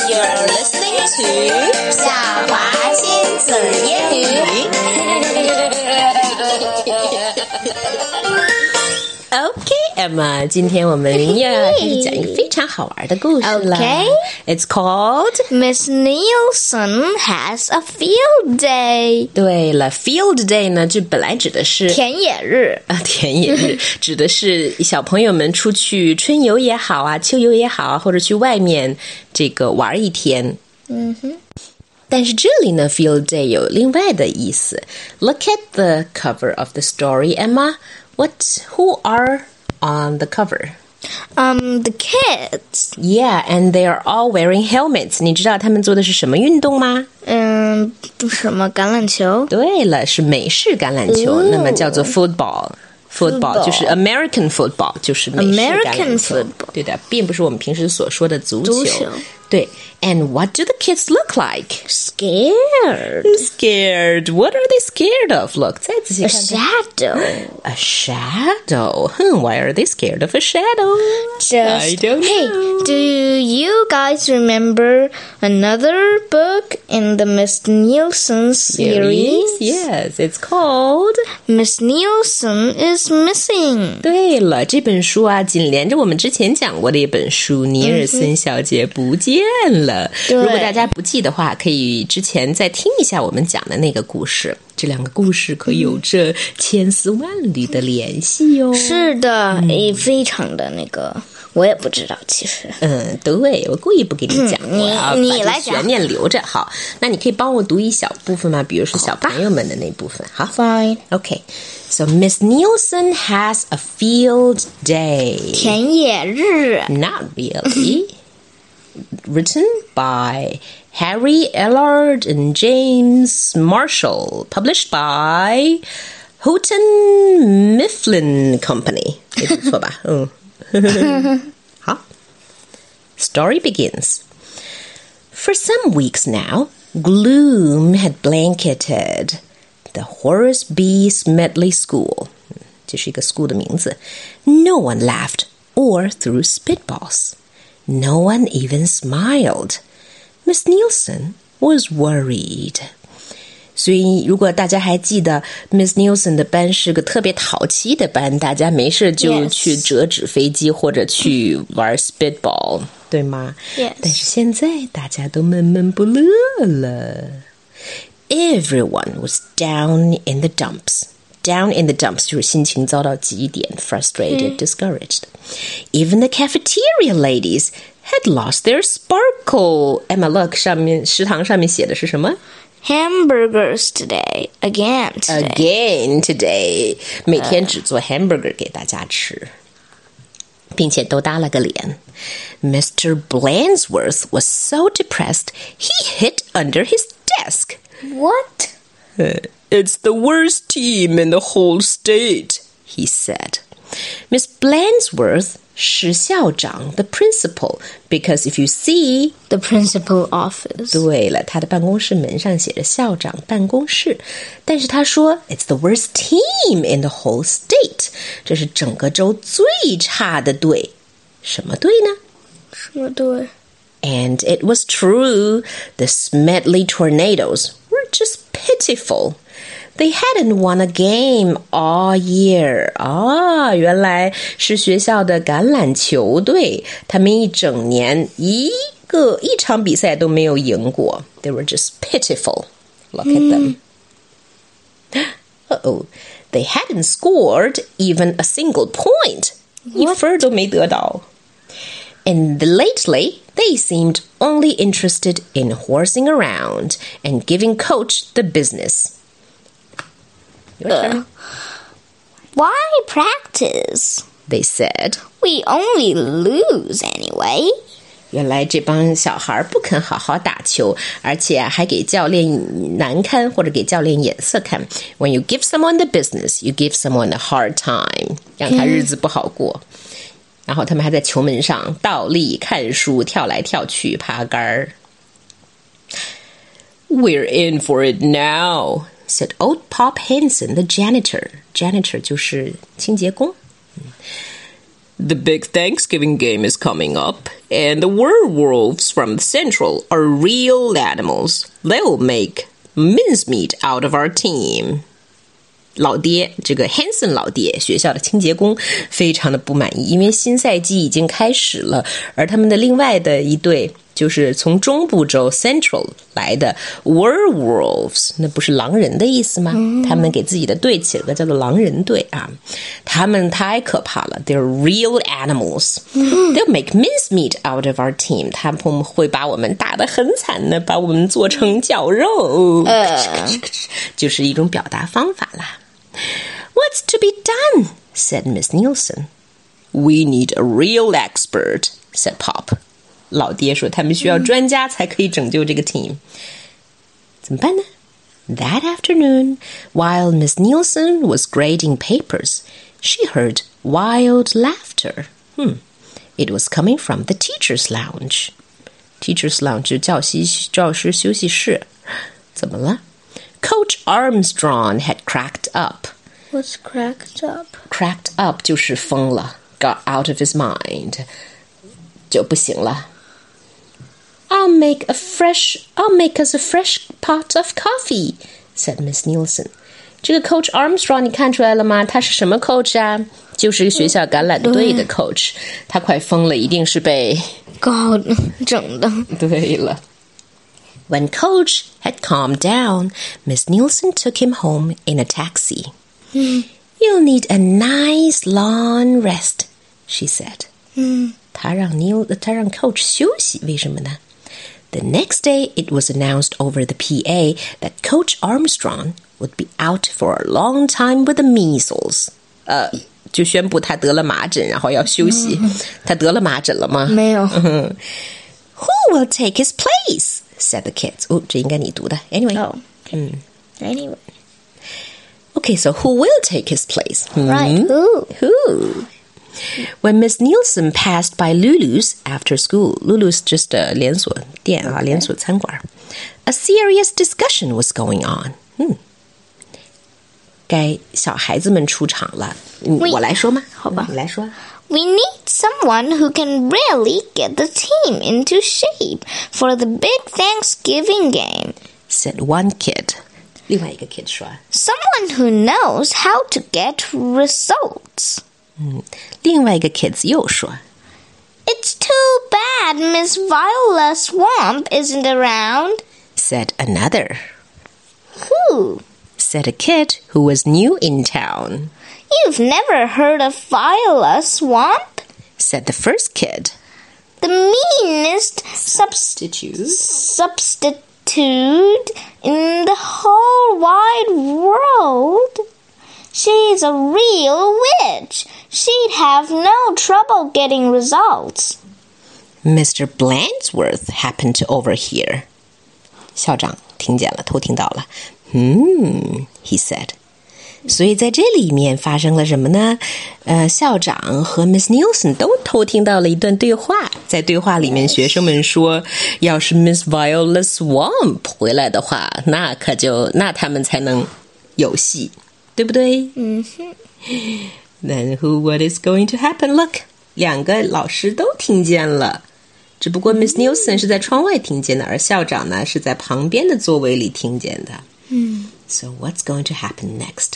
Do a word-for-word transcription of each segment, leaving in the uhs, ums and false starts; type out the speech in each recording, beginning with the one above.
You're listening to 小华亲子英语。 Okay, Emma, 今天我们要开始讲一个非常好玩的故事了。 Okay. It's called Miss Nielsen has a field day. 对了 ，Field Day 呢，就本来指的是田野日啊，田野日指的是小朋友们出去春游也好啊，秋游也好啊，或者去外面这个玩一天。 嗯哼。 但是这里呢 ，Field Day 有另外的意思。Look at the cover of the story, Emma. What? Who are on the cover? Um, the kids. Yeah, and they are all wearing helmets. 你知道他们做的是什么运动吗？ 嗯，什么橄榄球？ 对了，是美式橄榄球， Ooh. 那么叫做 football。Football 就是 American football， 就是美式橄榄球。 American football. 对的，并不是我们平时所说的足球。 足球。 对 ，And what do the kids look like? Scared. Scared. What are they scared of? Look, 再仔细 A 看看。 shadow. A shadow. Hmm, why are they scared of a shadow? Just, I don't hey, know. do you guys remember another book in the Miss Nielsen series? Yes, it's called Miss Nielsen is Missing. 对了，这本书啊，紧连着我们之前讲过的一本书，尼尔森小姐不见了。 对如果大家不记的话，可以之前再听一下我们讲的那个故事。这两个故事可有着千丝万缕的联系哟、哦。 是的，也、嗯、非常的那个，我也不知道，其实。 嗯，对，我故意不给你讲， 嗯、 我要把这悬念留着。好，那你可以帮我读一小部分吗？比如说小朋友们的那部分。好 ，Fine. Okay. So Miss Nielsen has a field day. 田野日。 Not really. Written by Harry Ellard and James Marshall. Published by Houghton Mifflin Company. 没读错吧？嗯。好。Story begins. For some weeks now, gloom had blanketed the Horace B. Smedley School. 这是一个 school 的名字。No one laughed or threw spitballs. No one even smiled. Miss Nielsen was worried. 所以如果大家还记得 Miss Nielsen 的班是个特别淘气的班，大家没事就去折纸飞机或者去玩 spitball， 对吗？ Yes. 但是现在大家都闷闷不乐了。Everyone was down in the dumps. Down in the dumps 就是心情遭到极点 frustrated, discouraged. Even the cafeteria ladies had lost their sparkle. Emma, look, 上面食堂上面写的是什么？ Hamburgers today. Again today. Again today. 每天只做 hamburger 给大家吃，并且都搭了个脸。Mister Blansworth was so depressed he hid under his desk. What? It's the worst team in the whole state, he said. Miss Blansworth 是校长 the principal, because if you see the principal office. 对了，他的办公室门上写着校长办公室，但是他说 it's the worst team in the whole state. 这是整个州最差的队。什么队呢？ 什么队？ And it was true. The Smedley Tornadoes were just pitiful. They hadn't won a game all year. 啊，原来是学校的橄榄球队，他们一整年一个一场比赛都没有赢过。They were just pitiful. Look at them. Uh-oh. They hadn't scored even a single point. 一分都没得到。And lately, they seemed only interested in horsing around and giving Coach the business. Your turn. Uh, why practice? They said. We only lose anyway. 原来这帮小孩不肯好好打球，而且还给教练难堪或者给教练眼色看。When you give someone the business, you give someone a hard time. 让他日子不好过。然后他们还在球门上倒立、看书、跳来跳去、爬杆儿。We're in for it now, said old Pop Henson, the janitor. Janitor 就是清洁工。 The big Thanksgiving game is coming up, and the werewolves from Central are real animals. They'll make mincemeat out of our team. 老爹，这个 Hanson 老爹，学校的清洁工非常的不满意，因为新赛季已经开始了，而他们的另外的一队就是从中部州 Central 来的 werewolves， 那不是狼人的意思吗？嗯、他们给自己的队起了个叫做狼人队啊，他们太可怕了 ，They're real animals. They'll make mincemeat out of our team. 他们会把我们打得很惨的，把我们做成绞肉，呃、就是一种表达方法啦。What's to be done? Said Miss Nielsen. We need a real expert, said Pop. 老爹说他们需要专家才可以拯救这个 team. 怎么办呢? That afternoon, while Miss Nielsen was grading papers, she heard wild laughter. Hmm. It was coming from the teacher's lounge. Teacher's lounge 教习教师休息室。怎么了? Coach Armstrong had cracked up. What's cracked up? Cracked up 就是疯了 got out of his mind. 就不行了。I'll make a fresh, I'll make us a fresh pot of coffee, said Miss Nielsen. 这个 Coach Armstrong 你看出来了吗？他是什么 coach 啊？就是学校橄榄队的 coach. 他快疯了，一定是被搞整的。 对了。When Coach had calmed down, Miss Nielsen took him home in a taxi. Mm. You'll need a nice long rest, she said. Mm. 她让 Neil, 她让 Coach 休息，为什么呢？ The next day, it was announced over the P A that Coach Armstrong would be out for a long time with the measles. 呃，就宣布他得了麻疹，然后要休息。他得了麻疹了吗？ 没有。 Who will take his place? Said the kids. 哦，这应该你读的。Anyway. Oh. Okay. Anyway. Okay, so who will take his place? Right. Hmm? Who? Who? When Miss Nielsen passed by Lulu's after school, Lulu's just a 连锁店啊， Okay. 连锁餐馆. A serious discussion was going on. Hmm. 该小孩子们出场了。我来说吗？ 好吧， 你来说。 We need someone who can really get the team into shape for the big Thanksgiving game, said one kid. 另外一个 kid 说 Someone who knows how to get results. 嗯，另外一个 kids 又说 It's too bad Miss Viola Swamp isn't around, said another. Who? Said a kid who was new in town. You've never heard of Viola Swamp? Said the first kid. The meanest Substitute. substitute in the whole wide world. She's a real witch. She'd have no trouble getting results. Mister Blandsworth happened to overhear. 校长听见了，偷听到了。Hmm, he said. 所以在这里面发生了什么呢？呃，校长和 Miss Nielsen 都偷听到了一段对话。在对话里面，学生们说，要是 Miss Viola Swamp 回来的话，那可就那他们才能有戏，对不对？ 嗯哼。 Then who what is going to happen? Look, 两个老师都听见了，只不过 Miss Nielsen 是在窗外听见的，而校长呢是在旁边的座位里听见的。 嗯。 So what's going to happen next?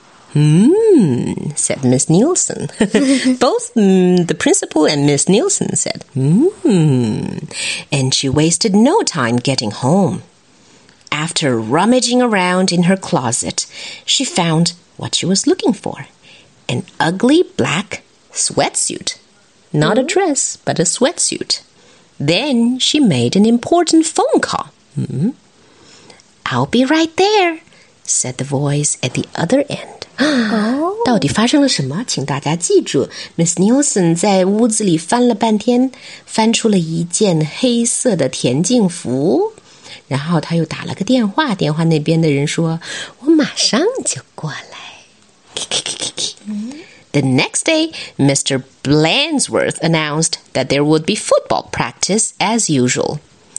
Hmm, said Miss Nielsen. Both mm, the principal and Miss Nielsen said, hmm. And she wasted no time getting home. After rummaging around in her closet, she found what she was looking for. An ugly black sweatsuit. Not a dress, but a sweatsuit. Then she made an important phone call. Hmm. I'll be right there, said the voice at the other end. 到底发生了什么？请大家记住 Miss Nielsen 在屋子里翻了半天，翻出了一件黑色的田径服，然后他又打了个电话，电话那边的人说我马上就过来。The next day, Mister Blandsworth announced that there would be football practice as usual.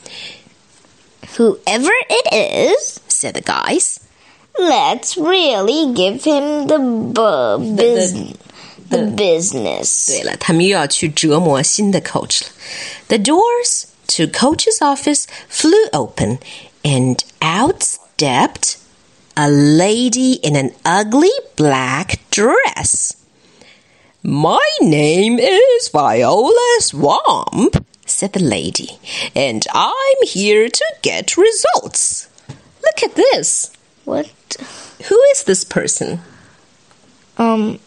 Whoever it is, said the guys, let's really give him the, bu- the, the, the business. 对了，他们又要去折磨新的 coach 了。The doors to Coach's office flew open, and out stepped a lady in an ugly black dress. My name is Viola Swamp, said the lady, and I'm here to get results. Look at this. What? Who is this person? Um,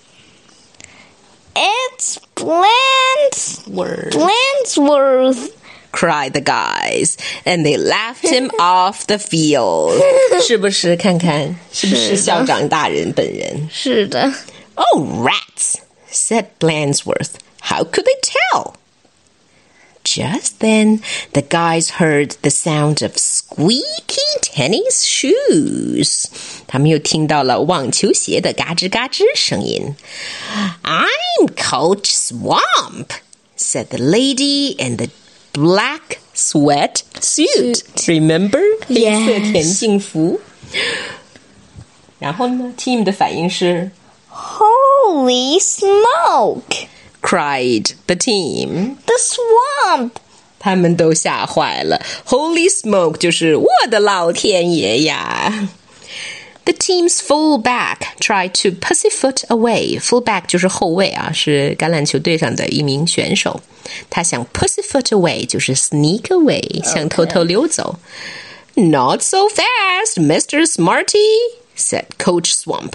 it's Blansworth. Blansworth, cried the guys, and they laughed him off the field. 是不是看看是不是校长大人本人？ 是的。 Oh, rats, said Blansworth. How could they tell? Just then, the guys heard the sound of squeaky tennis shoes. 他们又听到了网球鞋的嘎吱嘎吱声音。I'm Coach Swamp, said the lady in the black sweat suit. Remember? 黑色田径服。然后呢 ，team 的反应是 Holy smoke! cried the team. The swamp! 他们都吓坏了。Holy smoke 就是我的老天爷呀。The team's fullback tried to pussyfoot away. Fullback 就是后卫啊，是橄榄球队上的一名选手。他想 pussyfoot away 就是 sneak away， 想偷偷溜走。Not so fast, Mister Smarty, said Coach Swamp.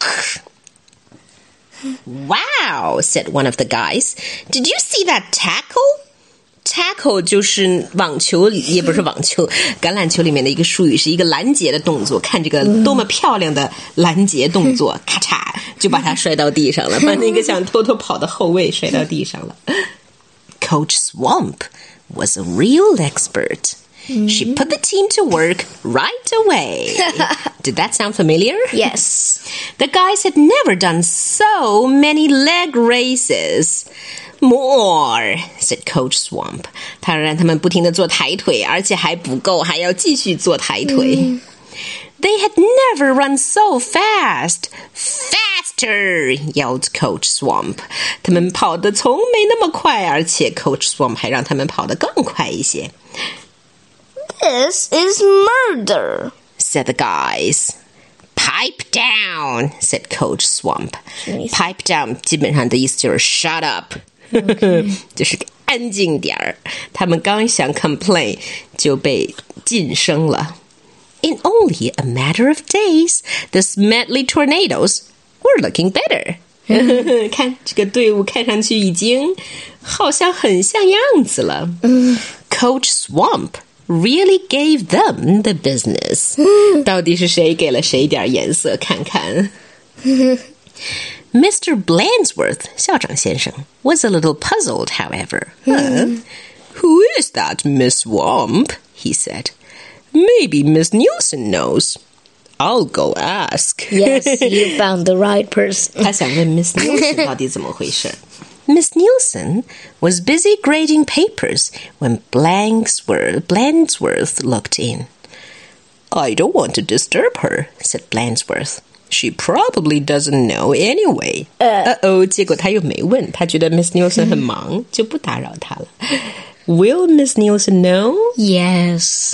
Wow, said one of the guys. Did you see that tackle? Tackle 就是网球，也不是网球，橄榄球里面的一个术语，是一个拦截的动作。看这个多么漂亮的拦截动作，咔嚓就把他摔到地上了，把那个想偷偷跑的后卫摔到地上了。Coach Swamp was a real expert. She put the team to work right away. Did that sound familiar? Yes. The guys had never done so many leg races. More, said Coach Swamp. 他让他们不停地做抬腿，而且还不够，还要继续做抬腿。Mm. They had never run so fast. Faster, yelled Coach Swamp. 他们跑得从没那么快，而且 Coach Swamp 还让他们跑得更快一些。 This is murder, said the guys. Pipe down, said Coach Swamp. Pipe down 基本上的意思就是 shut up. Okay. 就是安静点儿。他们刚想 complain 就被晋升了。In only a matter of days, the Smedley Tornadoes were looking better. 看这个队伍看上去已经好像很像样子了。Coach Swamp really gave them the business. 到底是谁给了谁点颜色看看。Mister Blansworth, 校长先生, was a little puzzled, however. Huh? Who is that Miss Swamp? He said. Maybe Miss Nielsen knows. I'll go ask. Yes, you found the right person. 他想问 Miss Nielsen 到底怎么回事。Miss Nielsen was busy grading papers when Blansworth, Blansworth looked in. I don't want to disturb her, said Blansworth. She probably doesn't know anyway. Uh-oh, 结果他又没问，他觉得 Miss Nielsen 很忙，就不打扰他了。Will Miss Nielsen know? Yes.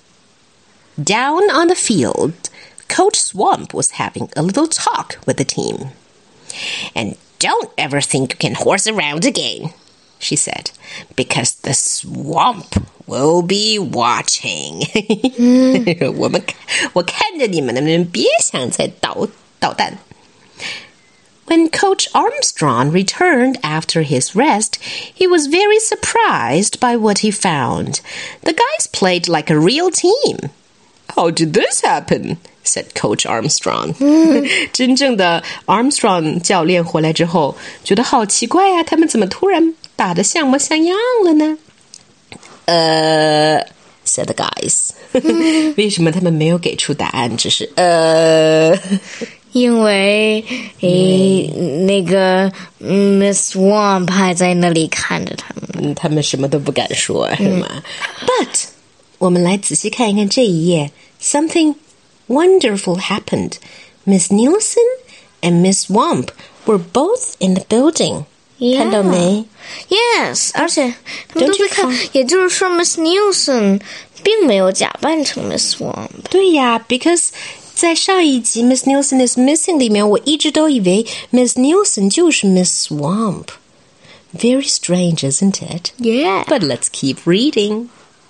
Down on the field, Coach Swamp was having a little talk with the team. And don't ever think you can horse around again, she said, because the swamp will be watching. 我们我看着你们，你们别想再捣捣蛋。When Coach Armstrong returned after his rest, he was very surprised by what he found. The guys played like a real team. How did this happen? said Coach Armstrong. 真正的 Armstrong 教练回来之后，觉得好奇怪啊，他们怎么突然打得像模像样了呢？呃、uh, said the guys. 为什么他们没有给出答案，只是呃。 因为诶，那个 Miss Swamp 还在那里看着他们， 他们什么都不敢说，是吗？ But 我们来仔细看一看这一页 ，Something wonderful happened. Miss Nielsen and Miss Swamp were both in the building. Yeah. 看到没？ Yes， 而且他们都在看，也就是说 Miss Nielsen 并没有假扮成 Miss Swamp。 对呀 ，because 在上一集 Miss Nielsen is missing 里面，我一直都以为 Miss Nielsen 就是 Miss Swamp. Very strange, isn't it? Yeah. But let's keep reading.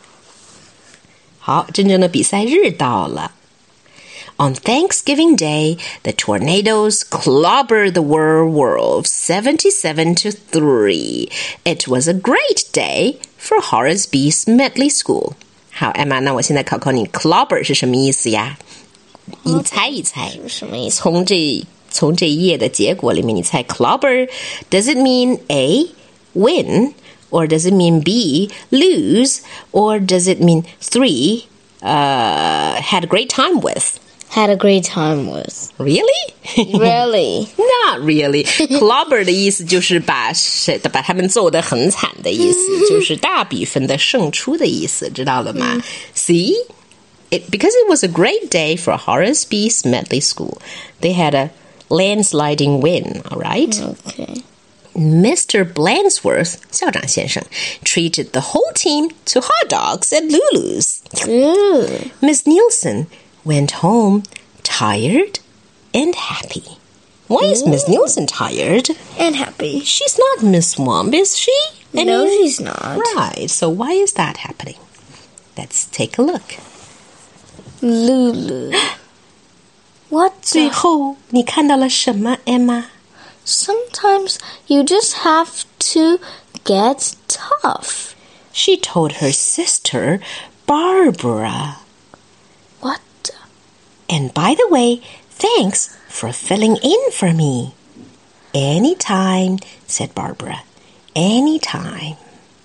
好，真正的比赛日到了。On Thanksgiving Day, the tornadoes clobbered the werewolves seventy-seven to three. It was a great day for Horace B. Smedley School. 好 ，Emma， 那我现在考考你 ，clobber 是什么意思呀？你猜一猜， 什么意思？ 从这从这一页的结果里面，你猜 clobber does it mean A win or does it mean B lose or does it mean three uh had a great time with? Had a great time with. Really? Really? Not really. Clobber 的意思就是把谁把他们揍得很惨的意思，就是大比分的胜出的意思，知道了吗？ See? It, because it was a great day for Horace B. Smedley School. They had a landsliding win, all right? Okay. Mister Blansworth, 校长先生, treated the whole team to hot dogs at Lulu's. Ooh. Miss Nielsen went home tired and happy. Why is Miss Nielsen tired? And happy. She's not Miss Swamp, is she? I No, mean, she's not. Right, so why is that happening? Let's take a look. Lulu. What? 最后你看到了什么 Emma? Sometimes you just have to get tough. She told her sister, Barbara. What? And by the way, thanks for filling in for me. Anytime, said Barbara. Anytime.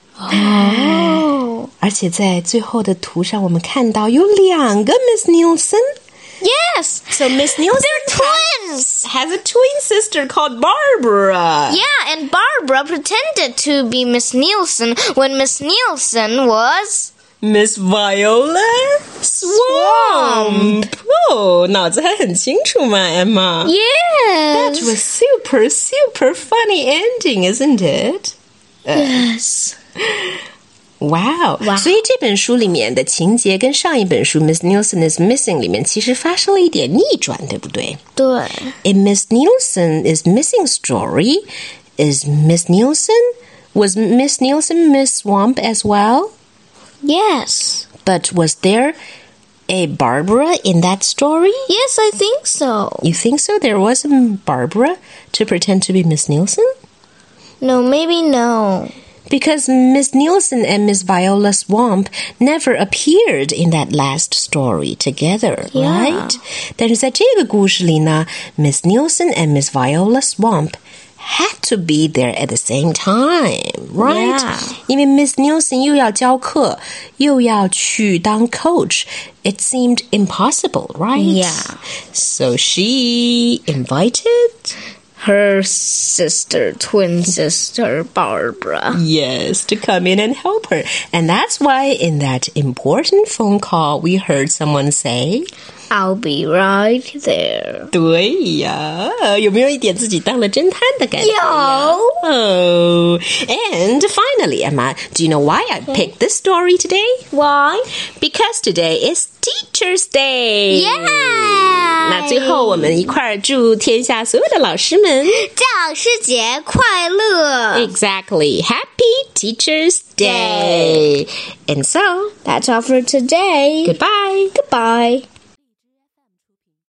Oh. 而且在最后的图上，我们看到有两个 Miss Nielsen。Yes, so Miss Nielsen They're twins. has a twin sister called Barbara. Yeah, and Barbara pretended to be Miss Nielsen when Miss Nielsen was Miss Viola Swamp. Oh, 脑子还很清楚嘛 Emma. Yes. That was super, super funny ending, isn't it? Yes. Wow. Wow. 所以这本书里面的情节跟上一本书 Miss Nielsen is Missing 里面其实发生了一点逆转，对不对？ 对。 In Miss Nielsen is Missing story, is Miss Nielsen, was Miss Nielsen Miss Swamp as well? Yes. But was there a Barbara in that story? Yes, I think so. You think so? There was a Barbara to pretend to be Miss Nielsen? No, maybe no. Because Miss Nielsen and Miss Viola Swamp never appeared in that last story together, Yeah. right? 但是在这个故事里呢 Miss Nielsen and Miss Viola Swamp had to be there at the same time, right? Yeah. 因为 Miss Nielsen 又要教课，又要去当 coach. It seemed impossible, right? Yeah. So she invited Her sister, twin sister, Barbara. Yes, to come in and help her. And that's why in that important phone call, we heard someone say, I'll be right there. 对呀，有没有一点自己当了侦探的感觉？ 有。 Oh, and finally, Emma, do you know why I picked this story today? Why? Because today is Teacher's Day. Yeah! 那最后我们一块儿祝天下所有的老师们教师节快乐! Exactly. Happy Teacher's Day. And so, That's all for today. goodbye. Goodbye.